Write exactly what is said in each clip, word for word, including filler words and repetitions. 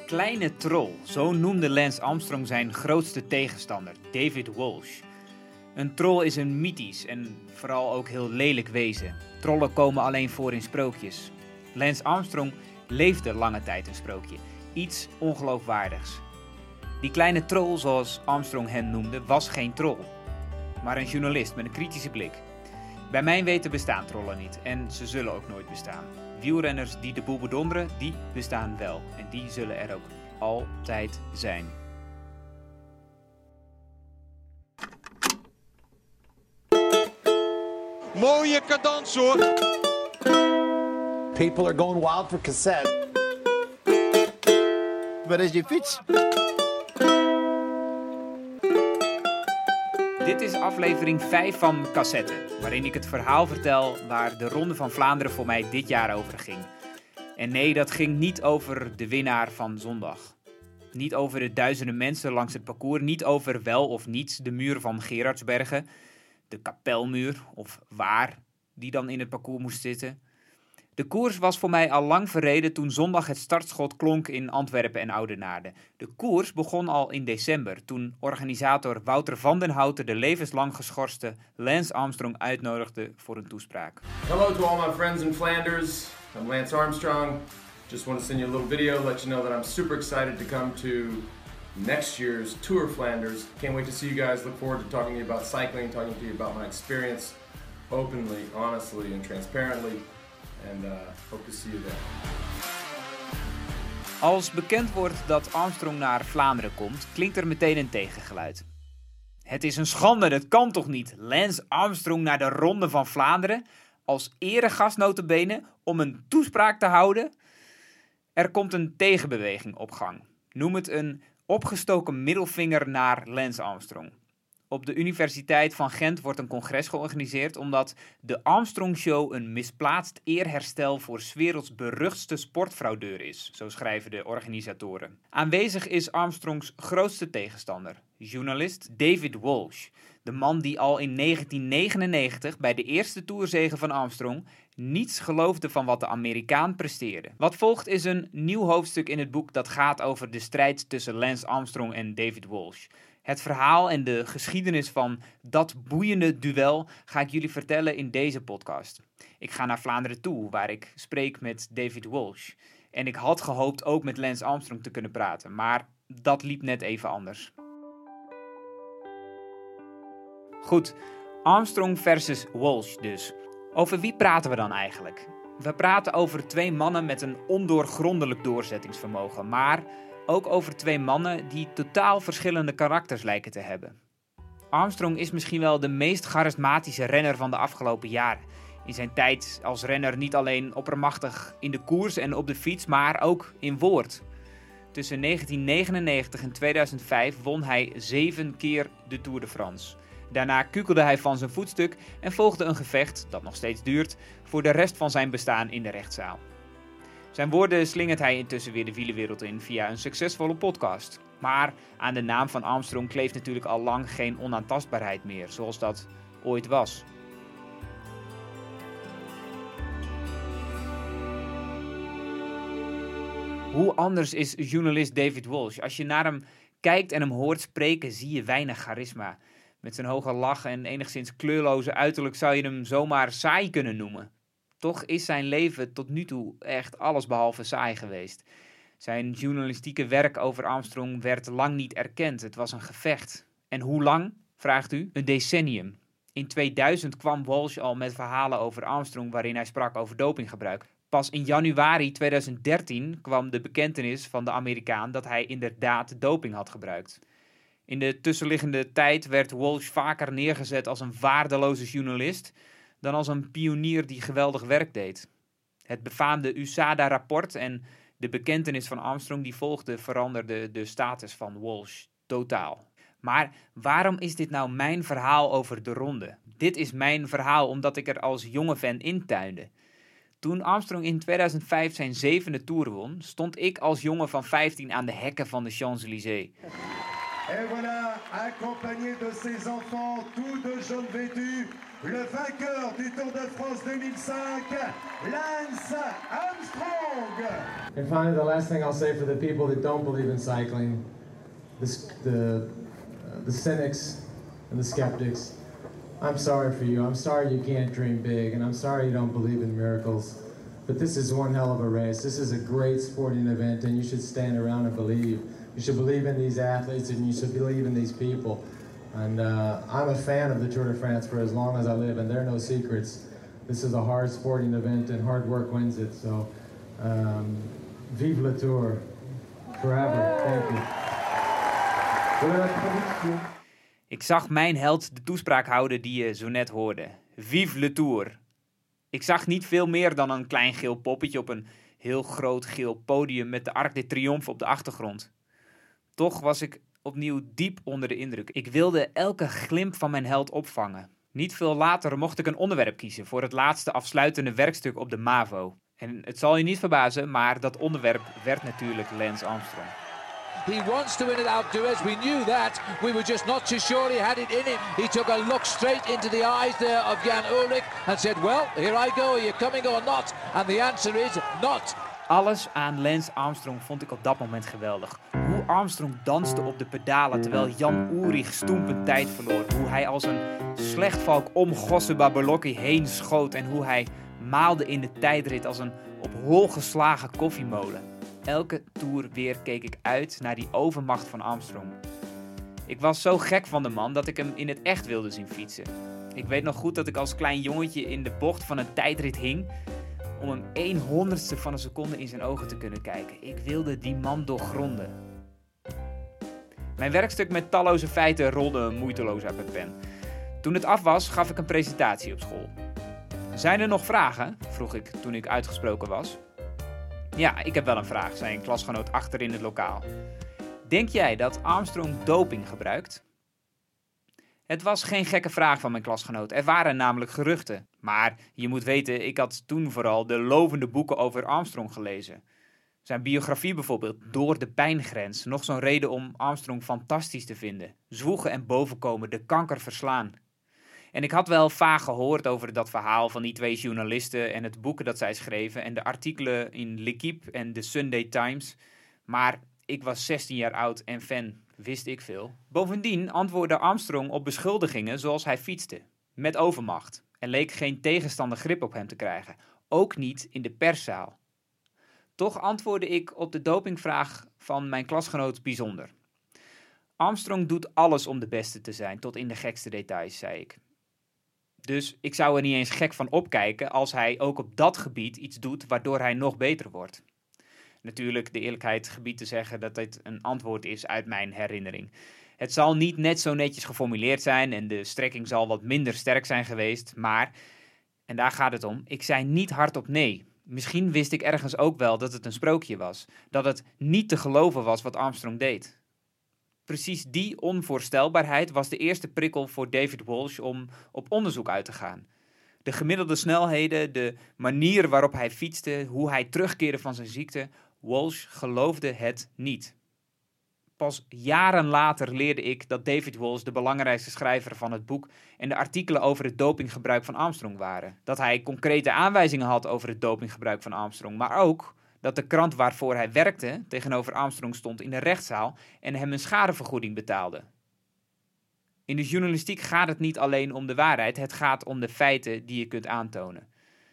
kleine troll, zo noemde Lance Armstrong zijn grootste tegenstander, David Walsh. Een troll is een mythisch en vooral ook heel lelijk wezen. Trollen komen alleen voor in sprookjes. Lance Armstrong leefde lange tijd een sprookje, iets ongeloofwaardigs. Die kleine troll, zoals Armstrong hem noemde, was geen troll, maar een journalist met een kritische blik. Bij mijn weten bestaan trollen niet en ze zullen ook nooit bestaan. Wielrenners die de boel bedonderen, die bestaan wel. En die zullen er ook altijd zijn. Mooie cadans hoor. People are going wild for cassette. Waar is je fiets? Dit is aflevering vijf van Cassette, waarin ik het verhaal vertel waar de Ronde van Vlaanderen voor mij dit jaar over ging. En nee, dat ging niet over de winnaar van zondag. Niet over de duizenden mensen langs het parcours, niet over wel of niet de muur van Gerardsbergen, de kapelmuur of waar die dan in het parcours moest zitten. De koers was voor mij al lang verreden toen zondag het startschot klonk in Antwerpen en Oudenaarde. De koers begon al in december toen organisator Wouter van den Houten de levenslang geschorste Lance Armstrong uitnodigde voor een toespraak. Hello to all my friends in Flanders. I'm Lance Armstrong. Just want to send you a little video, let you know that I'm super excited to come to next year's Tour Flanders. Can't wait to see you guys. Look forward to talking to you about cycling, talking to you about my experience openly, honestly, and transparently. And uh, hope to see you there. Als bekend wordt dat Armstrong naar Vlaanderen komt, klinkt er meteen een tegengeluid. Het is een schande, dat kan toch niet? Lance Armstrong naar de Ronde van Vlaanderen, als eregast nota bene, om een toespraak te houden? Er komt een tegenbeweging op gang. Noem het een opgestoken middelvinger naar Lance Armstrong. Op de Universiteit van Gent wordt een congres georganiseerd omdat de Armstrong Show een misplaatst eerherstel voor 's werelds beruchtste sportfraudeur is, zo schrijven de organisatoren. Aanwezig is Armstrongs grootste tegenstander, journalist David Walsh, de man die al in negentien negenennegentig bij de eerste toerzege van Armstrong niets geloofde van wat de Amerikaan presteerde. Wat volgt is een nieuw hoofdstuk in het boek dat gaat over de strijd tussen Lance Armstrong en David Walsh. Het verhaal en de geschiedenis van dat boeiende duel ga ik jullie vertellen in deze podcast. Ik ga naar Vlaanderen toe, waar ik spreek met David Walsh. En ik had gehoopt ook met Lance Armstrong te kunnen praten, maar dat liep net even anders. Goed, Armstrong versus Walsh dus. Over wie praten we dan eigenlijk? We praten over twee mannen met een ondoorgrondelijk doorzettingsvermogen, maar ook over twee mannen die totaal verschillende karakters lijken te hebben. Armstrong is misschien wel de meest charismatische renner van de afgelopen jaren. In zijn tijd als renner niet alleen oppermachtig in de koers en op de fiets, maar ook in woord. Tussen negentien negenennegentig en tweeduizend vijf won hij zeven keer de Tour de France. Daarna kukelde hij van zijn voetstuk en volgde een gevecht, dat nog steeds duurt, voor de rest van zijn bestaan in de rechtszaal. Zijn woorden slingert hij intussen weer de wielerwereld in via een succesvolle podcast. Maar aan de naam van Armstrong kleeft natuurlijk al lang geen onaantastbaarheid meer, zoals dat ooit was. Hoe anders is journalist David Walsh? Als je naar hem kijkt en hem hoort spreken, zie je weinig charisma. Met zijn hoge lach en enigszins kleurloze uiterlijk zou je hem zomaar saai kunnen noemen. Toch is zijn leven tot nu toe echt allesbehalve saai geweest. Zijn journalistieke werk over Armstrong werd lang niet erkend. Het was een gevecht. En hoe lang, vraagt u? Een decennium. In tweeduizend kwam Walsh al met verhalen over Armstrong waarin hij sprak over dopinggebruik. Pas in januari tweeduizend dertien kwam de bekentenis van de Amerikaan dat hij inderdaad doping had gebruikt. In de tussenliggende tijd werd Walsh vaker neergezet als een waardeloze journalist dan als een pionier die geweldig werk deed. Het befaamde U S A D A-rapport en de bekentenis van Armstrong die volgde veranderde de status van Walsh totaal. Maar waarom is dit nou mijn verhaal over de ronde? Dit is mijn verhaal omdat ik er als jonge fan intuinde. Toen Armstrong in tweeduizend vijf zijn zevende Tour won, stond ik als jongen van vijftien aan de hekken van de Champs-Élysées. Et voilà, accompagné de ses enfants, tous de jaune vêtus, le vainqueur du Tour de France deux mille cinq, Lance Armstrong. And finally, the last thing I'll say for the people that don't believe in cycling, the, the, uh, the cynics and the skeptics, I'm sorry for you. I'm sorry you can't dream big, and I'm sorry you don't believe in miracles. But this is one hell of a race. This is a great sporting event, and you should stand around and believe. You should believe in these athletes, and you should believe in these people. And uh, I'm a fan of the Tour de France for as long as I live, and there are no secrets. This is a hard sporting event, and hard work wins it. So, um, vive le Tour, forever. Thank you. Ik zag mijn held de toespraak houden die je zo net hoorde. Vive le Tour. Ik zag niet veel meer dan een klein geel poppetje op een heel groot geel podium met de Arc de Triomphe op de achtergrond. Toch was ik opnieuw diep onder de indruk. Ik wilde elke glimp van mijn held opvangen. Niet veel later mocht ik een onderwerp kiezen voor het laatste afsluitende werkstuk op de MAVO. En het zal je niet verbazen, maar dat onderwerp werd natuurlijk Lance Armstrong. He wants to win it, outdoors. We knew that. We were just not too sure he had it in him. He took a look straight into the eyes there of Jan Ullrich and said, well, here I go. Are you coming or not? And the answer is not. Alles aan Lance Armstrong vond ik op dat moment geweldig. Hoe Armstrong danste op de pedalen terwijl Jan Ullrich stoempend tijd verloor. Hoe hij als een slechtvalk om Gosse Babolocki heen schoot. En hoe hij maalde in de tijdrit als een op hol geslagen koffiemolen. Elke toer weer keek ik uit naar die overmacht van Armstrong. Ik was zo gek van de man dat ik hem in het echt wilde zien fietsen. Ik weet nog goed dat ik als klein jongetje in de bocht van een tijdrit hing om hem één honderdste van een seconde in zijn ogen te kunnen kijken. Ik wilde die man doorgronden. Mijn werkstuk met talloze feiten rolde moeiteloos uit mijn pen. Toen het af was, gaf ik een presentatie op school. Zijn er nog vragen? Vroeg ik toen ik uitgesproken was. Ja, ik heb wel een vraag, zei een klasgenoot achter in het lokaal. Denk jij dat Armstrong doping gebruikt? Het was geen gekke vraag van mijn klasgenoot. Er waren namelijk geruchten. Maar je moet weten, ik had toen vooral de lovende boeken over Armstrong gelezen. Zijn biografie bijvoorbeeld, Door de pijngrens. Nog zo'n reden om Armstrong fantastisch te vinden. Zwoegen en bovenkomen, de kanker verslaan. En ik had wel vaag gehoord over dat verhaal van die twee journalisten en het boeken dat zij schreven en de artikelen in L'Équipe en de Sunday Times. Maar ik was zestien jaar oud en fan, wist ik veel. Bovendien antwoordde Armstrong op beschuldigingen zoals hij fietste, met overmacht. Er leek geen tegenstander grip op hem te krijgen, ook niet in de perszaal. Toch antwoordde ik op de dopingvraag van mijn klasgenoot bijzonder. Armstrong doet alles om de beste te zijn, tot in de gekste details, zei ik. Dus ik zou er niet eens gek van opkijken als hij ook op dat gebied iets doet waardoor hij nog beter wordt. Natuurlijk, de eerlijkheid gebied te zeggen dat dit een antwoord is uit mijn herinnering. Het zal niet net zo netjes geformuleerd zijn en de strekking zal wat minder sterk zijn geweest, maar, en daar gaat het om, ik zei niet hardop nee. Misschien wist ik ergens ook wel dat het een sprookje was, dat het niet te geloven was wat Armstrong deed. Precies die onvoorstelbaarheid was de eerste prikkel voor David Walsh om op onderzoek uit te gaan. De gemiddelde snelheden, de manier waarop hij fietste, hoe hij terugkeerde van zijn ziekte, Walsh geloofde het niet. Pas jaren later leerde ik dat David Walsh de belangrijkste schrijver van het boek en de artikelen over het dopinggebruik van Armstrong waren. Dat hij concrete aanwijzingen had over het dopinggebruik van Armstrong, maar ook dat de krant waarvoor hij werkte tegenover Armstrong stond in de rechtszaal en hem een schadevergoeding betaalde. In de journalistiek gaat het niet alleen om de waarheid, het gaat om de feiten die je kunt aantonen.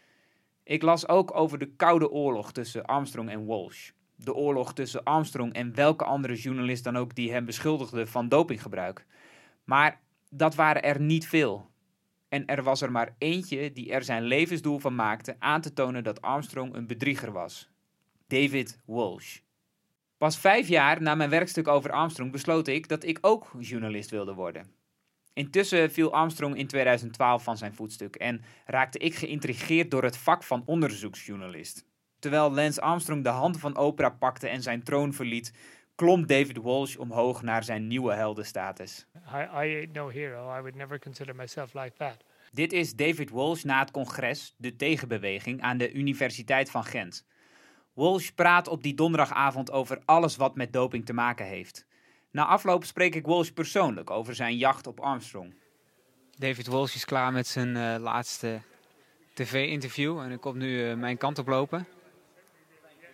Ik las ook over de Koude Oorlog tussen Armstrong en Walsh. De oorlog tussen Armstrong en welke andere journalist dan ook die hem beschuldigde van dopinggebruik. Maar dat waren er niet veel. En er was er maar eentje die er zijn levensdoel van maakte aan te tonen dat Armstrong een bedrieger was. David Walsh. Pas vijf jaar na mijn werkstuk over Armstrong besloot ik dat ik ook journalist wilde worden. Intussen viel Armstrong in tweeduizend twaalf van zijn voetstuk en raakte ik geïntrigeerd door het vak van onderzoeksjournalist. Terwijl Lance Armstrong de hand van Oprah pakte en zijn troon verliet, klom David Walsh omhoog naar zijn nieuwe heldenstatus. I, I ain't no hero. I would never consider myself like that. Dit is David Walsh na het congres, de tegenbeweging, aan de Universiteit van Gent. Walsh praat op die donderdagavond over alles wat met doping te maken heeft. Na afloop spreek ik Walsh persoonlijk over zijn jacht op Armstrong. David Walsh is klaar met zijn uh, laatste tv-interview en ik kom nu uh, mijn kant op lopen.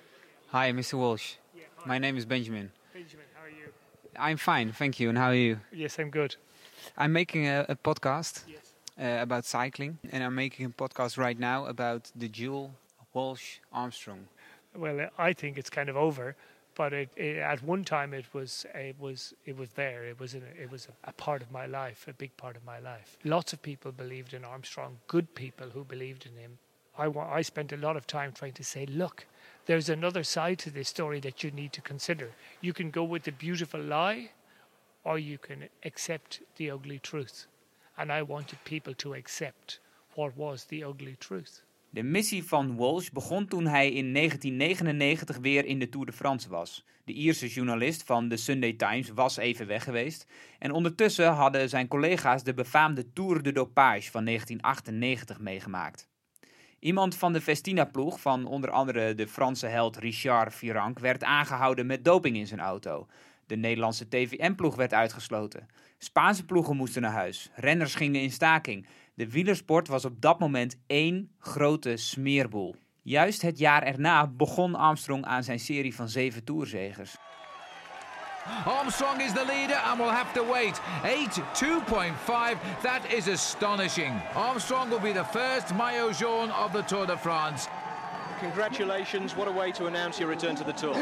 Hi, Mister Walsh. Yeah, hi. My name is Benjamin. Benjamin, how are you? I'm fine, thank you. And how are you? Yes, I'm good. I'm making a, a podcast Yes. uh, about cycling. And I'm making a podcast right now about the duel Walsh-Armstrong. Well, I think it's kind of over, but it, it, at one time it was it was it was there. It was in a, it was a, a part of my life, a big part of my life. Lots of people believed in Armstrong, good people who believed in him. I wa- I spent a lot of time trying to say, look, there's another side to this story that you need to consider. You can go with the beautiful lie, or you can accept the ugly truth. And I wanted people to accept what was the ugly truth. De missie van Walsh begon toen hij in negentien negenennegentig weer in de Tour de France was. De Ierse journalist van de Sunday Times was even weg geweest. En ondertussen hadden zijn collega's de befaamde Tour de Dopage van negentien achtennegentig meegemaakt. Iemand van de Festina-ploeg van onder andere de Franse held Richard Virenque werd aangehouden met doping in zijn auto. De Nederlandse T V M-ploeg werd uitgesloten. Spaanse ploegen moesten naar huis. Renners gingen in staking. De wielersport was op dat moment één grote smeerboel. Juist het jaar erna begon Armstrong aan zijn serie van zeven tourzegers. Armstrong is the leader and will have to wait. eight two point five, that is astonishing. Armstrong will be the first maillot jaune of the Tour de France. Congratulations, what a way to announce your return to the Tour.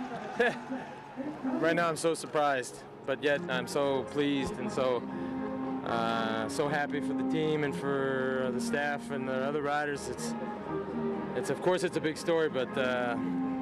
Right now I'm so surprised, but yet I'm so pleased and so uh, so happy for the team and for the staff and the other riders. It's it's of course it's a big story, but uh,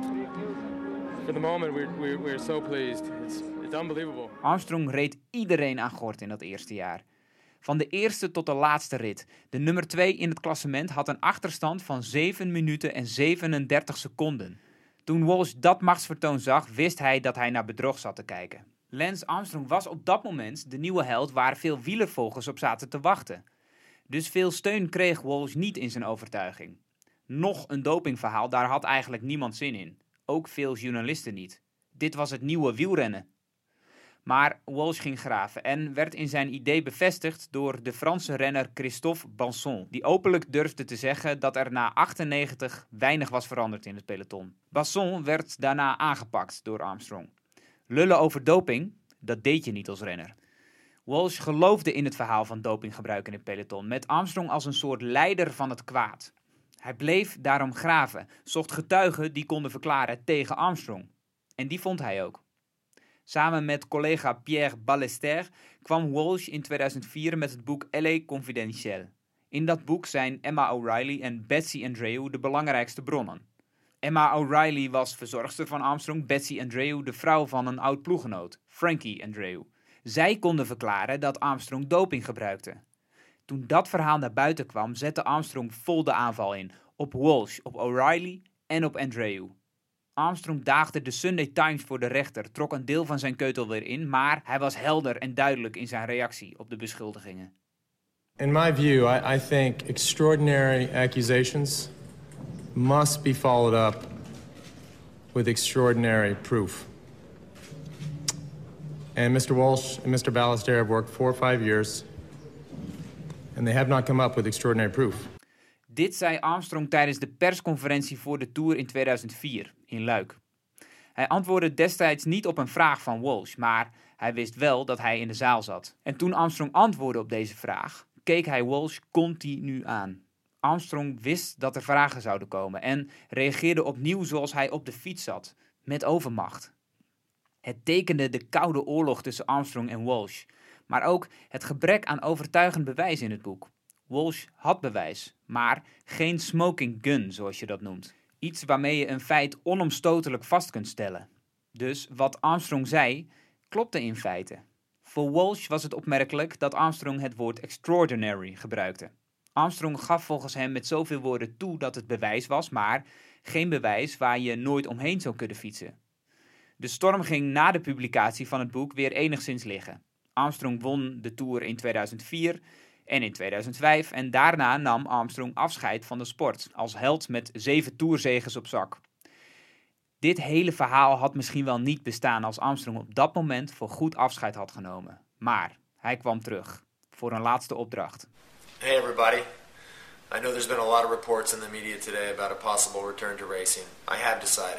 for the moment we're, we're we're so pleased. It's it's unbelievable. Armstrong reed iedereen aan gort in dat eerste jaar. Van de eerste tot de laatste rit. De nummer twee in het klassement had een achterstand van zeven minuten en zevenendertig seconden. Toen Walsh dat machtsvertoon zag, wist hij dat hij naar bedrog zat te kijken. Lance Armstrong was op dat moment de nieuwe held waar veel wielervolgers op zaten te wachten. Dus veel steun kreeg Walsh niet in zijn overtuiging. Nog een dopingverhaal, daar had eigenlijk niemand zin in. Ook veel journalisten niet. Dit was het nieuwe wielrennen. Maar Walsh ging graven en werd in zijn idee bevestigd door de Franse renner Christophe Banson, die openlijk durfde te zeggen dat er na achtennegentig weinig was veranderd in het peloton. Banson werd daarna aangepakt door Armstrong. Lullen over doping, dat deed je niet als renner. Walsh geloofde in het verhaal van dopinggebruik in het peloton, met Armstrong als een soort leider van het kwaad. Hij bleef daarom graven, zocht getuigen die konden verklaren tegen Armstrong. En die vond hij ook. Samen met collega Pierre Ballester kwam Walsh in tweeduizend vier met het boek L A Confidentiel. In dat boek zijn Emma O'Reilly en Betsy Andreu de belangrijkste bronnen. Emma O'Reilly was verzorgster van Armstrong, Betsy Andreu de vrouw van een oud ploeggenoot, Frankie Andreu. Zij konden verklaren dat Armstrong doping gebruikte. Toen dat verhaal naar buiten kwam, zette Armstrong vol de aanval in. Op Walsh, op O'Reilly en op Andreu. Armstrong daagde de Sunday Times voor de rechter, trok een deel van zijn keutel weer in, maar hij was helder en duidelijk in zijn reactie op de beschuldigingen. In my view, I, I think extraordinary accusations must be followed up with extraordinary proof. And Mister Walsh and Mister Ballester have worked four or five years, and they have not come up with extraordinary proof. Dit zei Armstrong tijdens de persconferentie voor de Tour in tweeduizend vier in Luik. Hij antwoordde destijds niet op een vraag van Walsh, maar hij wist wel dat hij in de zaal zat. En toen Armstrong antwoordde op deze vraag, keek hij Walsh continu aan. Armstrong wist dat er vragen zouden komen en reageerde opnieuw zoals hij op de fiets zat, met overmacht. Het tekende de koude oorlog tussen Armstrong en Walsh, maar ook het gebrek aan overtuigend bewijs in het boek. Walsh had bewijs, maar geen smoking gun, zoals je dat noemt. Iets waarmee je een feit onomstotelijk vast kunt stellen. Dus wat Armstrong zei, klopte in feite. Voor Walsh was het opmerkelijk dat Armstrong het woord extraordinary gebruikte. Armstrong gaf volgens hem met zoveel woorden toe dat het bewijs was, maar geen bewijs waar je nooit omheen zou kunnen fietsen. De storm ging na de publicatie van het boek weer enigszins liggen. Armstrong won de Tour in tweeduizend vier en in tweeduizend vijf en daarna nam Armstrong afscheid van de sport als held met zeven toerzegers op zak. Dit hele verhaal had misschien wel niet bestaan als Armstrong op dat moment voor goed afscheid had genomen. Maar hij kwam terug voor een laatste opdracht. Hey everybody. I know there's been a lot of reports in the media today about a possible return to racing. I have decided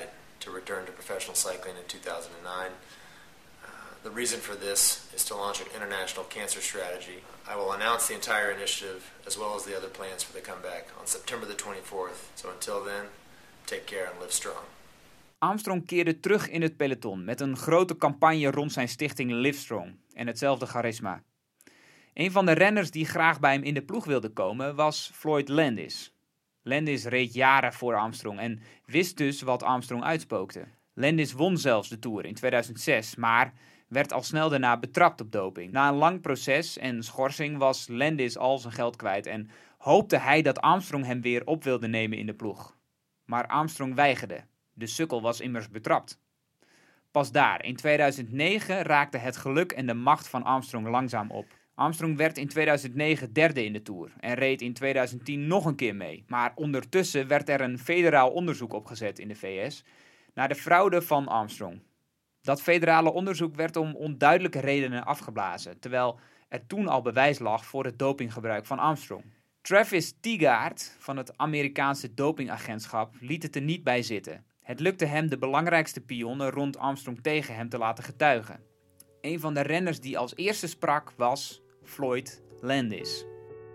to return to professional cycling in two thousand nine. Uh, the reason for this is to launch an international cancer strategy. I will announce the entire initiative as well as the other plans for the comeback on September the twenty-fourth. So until then, take care and live strong. Armstrong keerde terug in het peloton met een grote campagne rond zijn stichting Livestrong en hetzelfde charisma. Een van de renners die graag bij hem in de ploeg wilde komen was Floyd Landis. Landis reed jaren voor Armstrong en wist dus wat Armstrong uitspookte. Landis won zelfs de Tour in tweeduizend zes, maar werd al snel daarna betrapt op doping. Na een lang proces en schorsing was Landis al zijn geld kwijt en hoopte hij dat Armstrong hem weer op wilde nemen in de ploeg. Maar Armstrong weigerde. De sukkel was immers betrapt. Pas daar, in tweeduizend negen, raakte het geluk en de macht van Armstrong langzaam op. Armstrong werd in tweeduizend negen derde in de Tour en reed in tweeduizend tien nog een keer mee. Maar ondertussen werd er een federaal onderzoek opgezet in de V S naar de fraude van Armstrong. Dat federale onderzoek werd om onduidelijke redenen afgeblazen, terwijl er toen al bewijs lag voor het dopinggebruik van Armstrong. Travis Teagaard van het Amerikaanse dopingagentschap liet het er niet bij zitten. Het lukte hem de belangrijkste pionnen rond Armstrong tegen hem te laten getuigen. Een van de renners die als eerste sprak was Floyd Landis.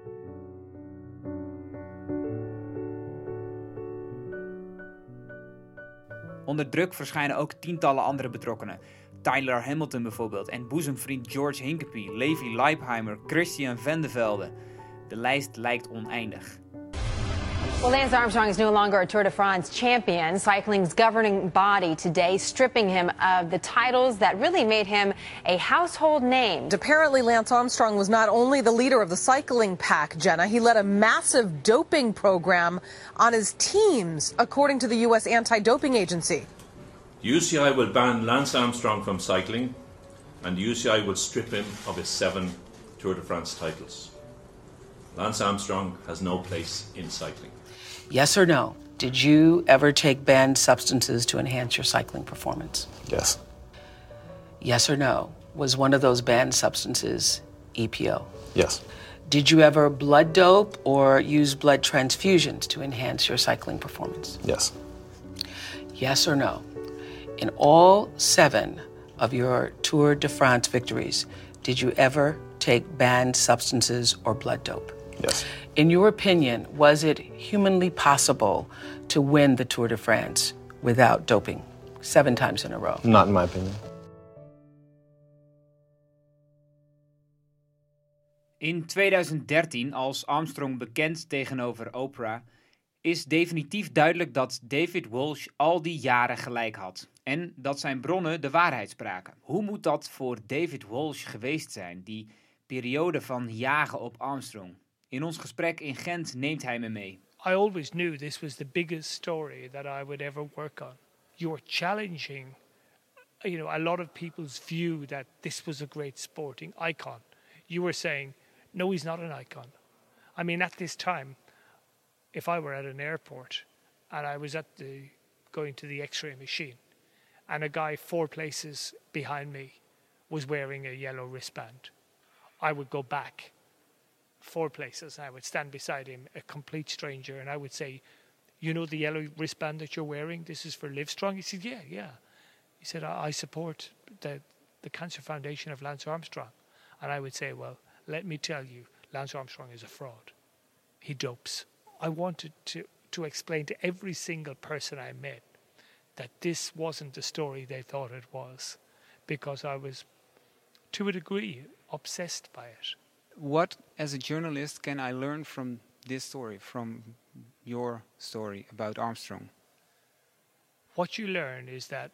Onder druk verschijnen ook tientallen andere betrokkenen. Tyler Hamilton bijvoorbeeld en boezemvriend George Hincapie, Levi Leipheimer, Christian Vande Velde. De lijst lijkt oneindig. Well, Lance Armstrong is no longer a Tour de France champion. Cycling's governing body today stripping him of the titles that really made him a household name. Apparently, Lance Armstrong was not only the leader of the cycling pack, Jenna, he led a massive doping program on his teams, according to the U S anti-doping agency. The U C I will ban Lance Armstrong from cycling, and the U C I will strip him of his seven Tour de France titles. Lance Armstrong has no place in cycling. Yes or no? Did you ever take banned substances to enhance your cycling performance? Yes. Yes or no? Was one of those banned substances E P O? Yes. Did you ever blood dope or use blood transfusions to enhance your cycling performance? Yes. Yes or no? In all seven of your Tour de France victories, did you ever take banned substances or blood dope? Yes. In your opinion, was it humanly possible to win the Tour de France without doping seven times in a row? Not in my opinion. In tweeduizend dertien, als Armstrong bekend tegenover Oprah, is definitief duidelijk dat David Walsh al die jaren gelijk had. En dat zijn bronnen de waarheid spraken. Hoe moet dat voor David Walsh geweest zijn, die periode van jagen op Armstrong? In ons gesprek in Gent neemt hij me mee. I always knew this was the biggest story that I would ever work on. You're challenging, you know, a lot of people's view that this was a great sporting icon. You were saying, no, he's not an icon. I mean, at this time, if I were at an airport and I was at the going to the X-ray machine and a guy four places behind me was wearing a yellow wristband, I would go back four places. I would stand beside him, a complete stranger, and I would say, you know the yellow wristband that you're wearing? This is for Livestrong? He said, yeah, yeah. He said, I, I support the, the Cancer Foundation of Lance Armstrong. And I would say, well, let me tell you, Lance Armstrong is a fraud. He dopes. I wanted to, to explain to every single person I met that this wasn't the story they thought it was, because I was, to a degree, obsessed by it. What, as a journalist, can I learn from this story, from your story about Armstrong? What you learn is that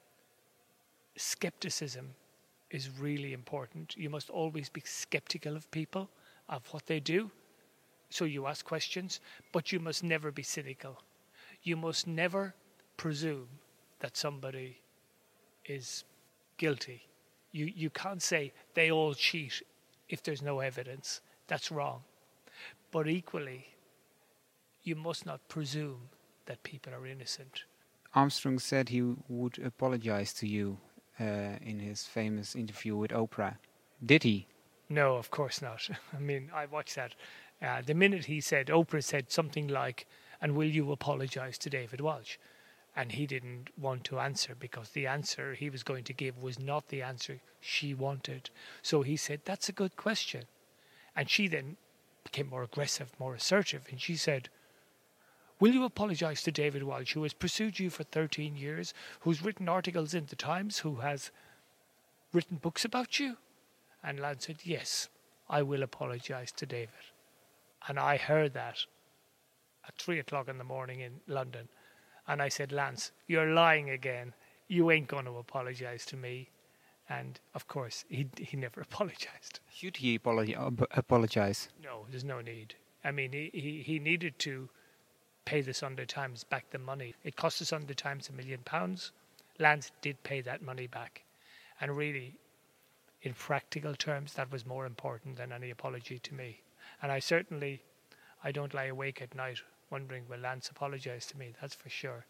skepticism is really important. You must always be skeptical of people, of what they do. So you ask questions, but you must never be cynical. You must never presume that somebody is guilty. You, you can't say they all cheat if there's no evidence. That's wrong. But equally, you must not presume that people are innocent. Armstrong said he would apologize to you uh, in his famous interview with Oprah. Did he? No, of course not. I mean, I watched that. Uh, the minute he said, Oprah said something like, and will you apologize to David Walsh? And he didn't want to answer because the answer he was going to give was not the answer she wanted. So he said, that's a good question. And she then became more aggressive, more assertive. And she said, will you apologise to David Walsh, who has pursued you for thirteen years, who's written articles in the Times, who has written books about you? And Lance said, yes, I will apologise to David. And I heard that at three o'clock in the morning in London. And I said, Lance, you're lying again. You ain't going to apologise to me. And, of course, he he never apologised. Should he apologi- ap- apologise? No, there's no need. I mean, he, he, he needed to pay the Sunday Times back the money. It cost the Sunday Times a million pounds. Lance did pay that money back. And really, in practical terms, that was more important than any apology to me. And I certainly, I don't lie awake at night wondering, will Lance apologize to me? That's for sure.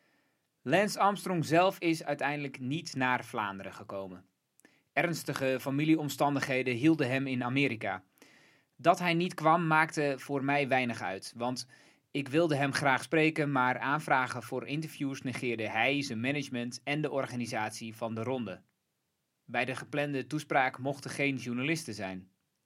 Lance Armstrong zelf is uiteindelijk niet naar Vlaanderen gekomen. Ernstige familieomstandigheden hielden hem in Amerika. Dat hij niet kwam maakte voor mij weinig uit, want ik wilde hem graag spreken, maar aanvragen voor interviews negeerde hij, zijn management en de organisatie van de ronde. Bij de geplande toespraak mochten geen journalisten zijn.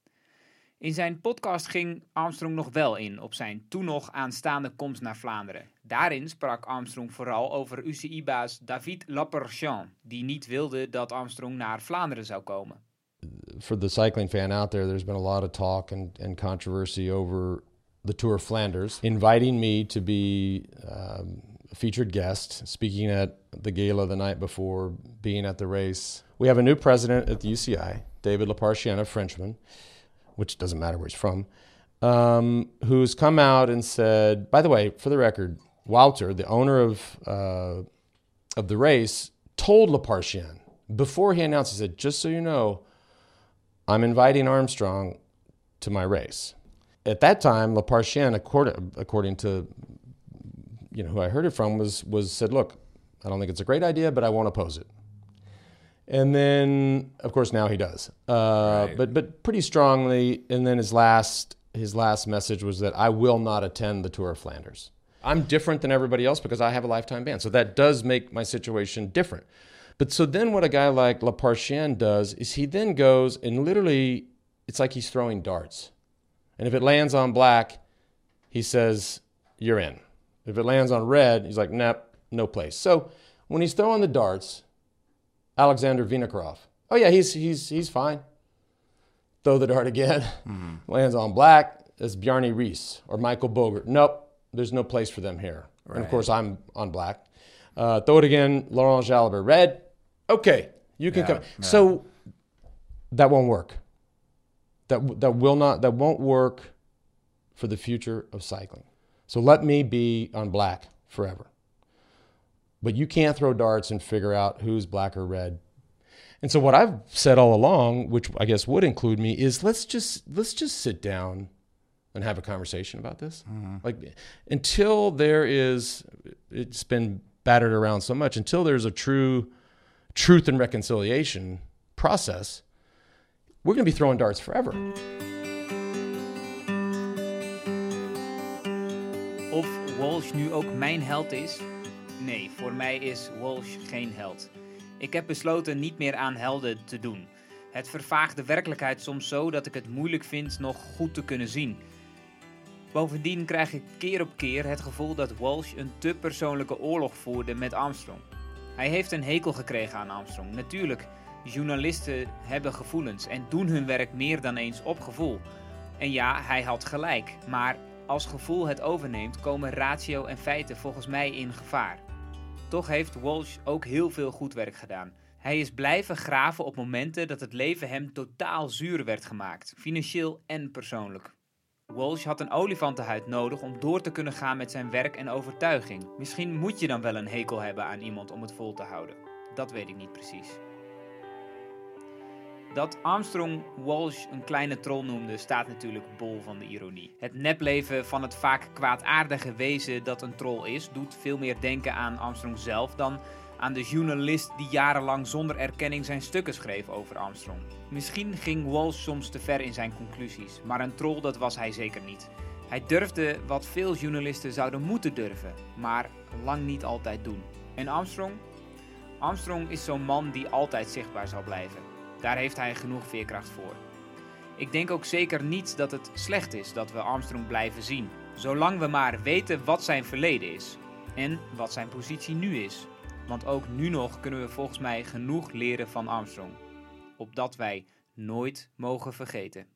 In zijn podcast ging Armstrong nog wel in op zijn toen nog aanstaande komst naar Vlaanderen. Daarin sprak Armstrong vooral over U C I-baas David Lappartient, die niet wilde dat Armstrong naar Vlaanderen zou komen. For the cycling fan out there, there's been a lot of talk and, and controversy over the Tour of Flanders, inviting me to be um, a featured guest, speaking at the gala the night before, being at the race. We have a new president at the U C I, David Lappartient, a Frenchman, which doesn't matter where he's from, um, who's come out and said, by the way, for the record, Wouter, the owner of uh, of the race, told Lappartient, before he announced, he said, just so you know, I'm inviting Armstrong to my race. At that time, Lappartient, according, according to you know who I heard it from, was was said, look, I don't think it's a great idea, but I won't oppose it. And then, of course, now he does, uh, right. but but pretty strongly. And then his last his last message was that I will not attend the Tour of Flanders. I'm different than everybody else because I have a lifetime ban, so that does make my situation different. But so then, what a guy like Lappartient does is he then goes and literally, it's like he's throwing darts. And if it lands on black, he says you're in. If it lands on red, he's like, nope, no place. So when he's throwing the darts, Alexander Vinokurov. Oh yeah, he's he's he's fine. Throw the dart again. Mm-hmm. Lands on black. It's Bjarne Riis or Michael Bogert. Nope, there's no place for them here. Right. And of course, I'm on black. Uh, throw it again. Laurent Jalabert. Red. Okay, you can yeah, come. Yeah. So that won't work. That that will not. That won't work for the future of cycling. So let me be on black forever. But you can't throw darts and figure out who's black or red. And so what I've said all along, which I guess would include me, is let's just let's just sit down and have a conversation about this. Mm-hmm. Like until there is, it's been battered around so much, until there's a true truth and reconciliation process, we're going to be throwing darts forever. Of Walsh nu ook mijn held is? Nee, voor mij is Walsh geen held. Ik heb besloten niet meer aan helden te doen. Het vervaagt de werkelijkheid soms zo dat ik het moeilijk vind nog goed te kunnen zien. Bovendien krijg ik keer op keer het gevoel dat Walsh een te persoonlijke oorlog voerde met Armstrong. Hij heeft een hekel gekregen aan Armstrong. Natuurlijk, journalisten hebben gevoelens en doen hun werk meer dan eens op gevoel. En ja, hij had gelijk, maar als gevoel het overneemt, komen ratio en feiten volgens mij in gevaar. Toch heeft Walsh ook heel veel goed werk gedaan. Hij is blijven graven op momenten dat het leven hem totaal zuur werd gemaakt, financieel en persoonlijk. Walsh had een olifantenhuid nodig om door te kunnen gaan met zijn werk en overtuiging. Misschien moet je dan wel een hekel hebben aan iemand om het vol te houden. Dat weet ik niet precies. Dat Armstrong Walsh een kleine troll noemde, staat natuurlijk bol van de ironie. Het nepleven van het vaak kwaadaardige wezen dat een troll is, doet veel meer denken aan Armstrong zelf dan aan de journalist die jarenlang zonder erkenning zijn stukken schreef over Armstrong. Misschien ging Walsh soms te ver in zijn conclusies, maar een troll dat was hij zeker niet. Hij durfde wat veel journalisten zouden moeten durven, maar lang niet altijd doen. En Armstrong? Armstrong is zo'n man die altijd zichtbaar zal blijven. Daar heeft hij genoeg veerkracht voor. Ik denk ook zeker niet dat het slecht is dat we Armstrong blijven zien. Zolang we maar weten wat zijn verleden is. En wat zijn positie nu is. Want ook nu nog kunnen we volgens mij genoeg leren van Armstrong. Opdat wij nooit mogen vergeten.